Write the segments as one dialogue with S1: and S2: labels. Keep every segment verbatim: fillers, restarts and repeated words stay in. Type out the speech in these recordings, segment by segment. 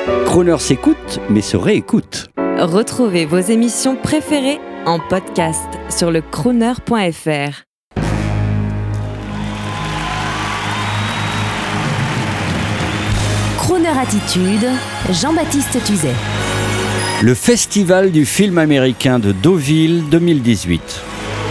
S1: Croner s'écoute, mais se réécoute.
S2: Retrouvez vos émissions préférées en podcast sur le crooner point f r.
S3: Crooner Attitude, Jean-Baptiste Tuzet.
S1: Le Festival du film américain de Deauville deux mille dix-huit.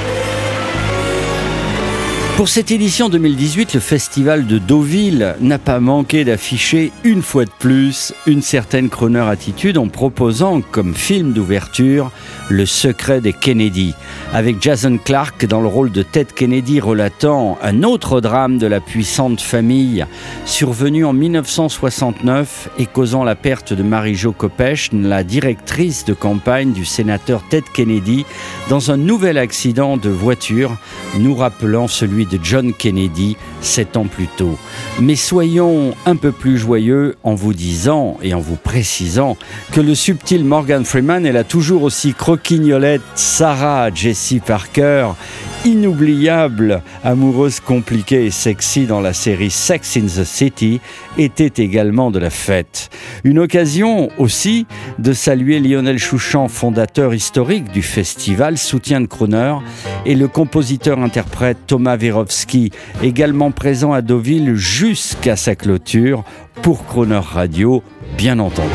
S1: Pour cette édition deux mille dix-huit, le Festival de Deauville n'a pas manqué d'afficher une fois de plus une certaine crooner attitude en proposant comme film d'ouverture Le secret des Kennedy, avec Jason Clarke dans le rôle de Ted Kennedy relatant un autre drame de la puissante famille survenu en dix-neuf cent soixante-neuf et causant la perte de Mary-Jo Kopechne, la directrice de campagne du sénateur Ted Kennedy, dans un nouvel accident de voiture nous rappelant celui de John Kennedy sept ans plus tôt. Mais soyons un peu plus joyeux en vous disant et en vous précisant que le subtil Morgan Freeman est la toujours aussi croquignolette Sarah Jessie Parker, inoubliable, amoureuse compliquée et sexy dans la série Sex in the City, était également de la fête. Une occasion aussi de saluer Lionel Chouchant, fondateur historique du festival, soutien de crooner, et le compositeur-interprète Thomas Werovski, également présent à Deauville jusqu'à sa clôture pour Crooner Radio, bien entendu.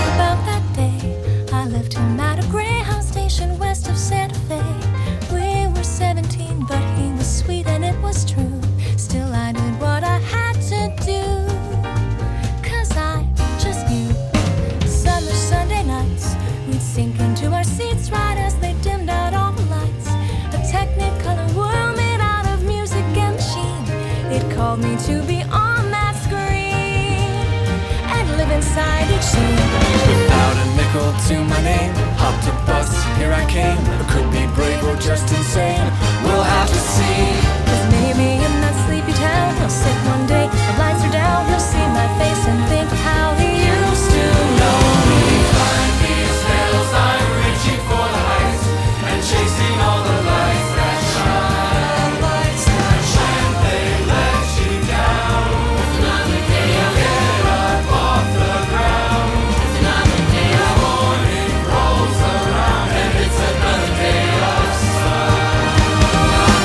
S4: Called me to be on that screen and live inside each scene.
S5: Without a nickel to my name, hopped a bus, here I came. I could be brave or just insane, we'll have to see.
S4: 'Cause maybe in that sleepy town he'll sit one day, the lights are down, he'll see my face and think of how he used to know me.
S5: Climb these hills, I'm reaching for the heights and chasing all the lights that shine. Lights that shine, they let you down. It's another day I'll get up off the ground. It's another day the morning rolls around and it's another day of sun.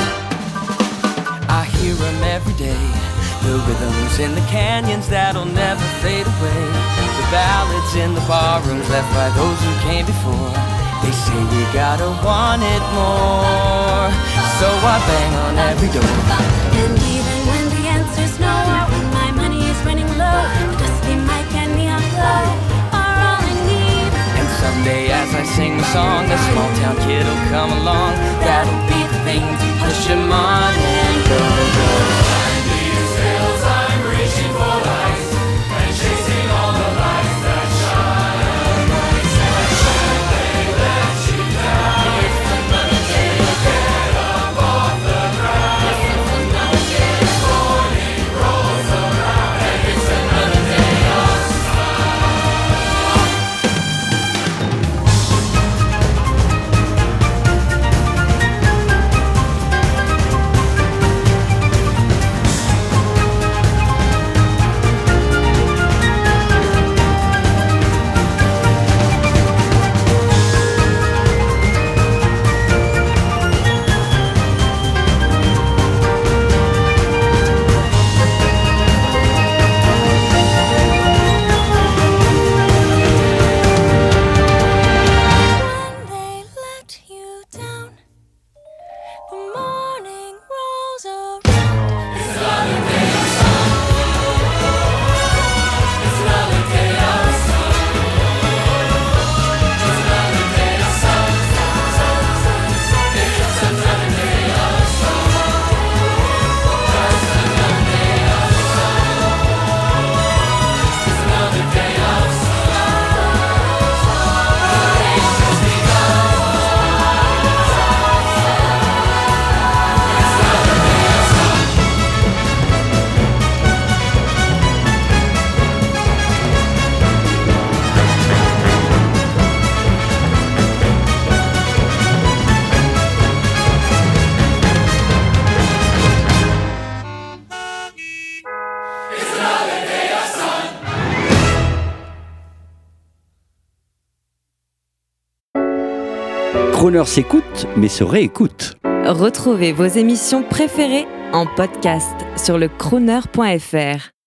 S5: I hear them every day, the rhythms in the canyons that'll never fade away, the ballads in the barrooms left by those who came before. They say we gotta want it more, so I bang on every door.
S4: And even when the answer's no, or when my money is running low, the dusty mic and neon glow are all I need.
S5: And someday as I sing the song, a small town kid'll come along. That'll be the thing to push him on and go, go. Climb these hills, I'm reaching for the heights and chasing all the lights that shine. Lights that shine, they let you down. It's another day to get up off the ground. It's another day the morning rolls around and it's another day of sun.
S1: Croner s'écoute, mais se réécoute.
S2: Retrouvez vos émissions préférées en podcast sur le crooner point f r.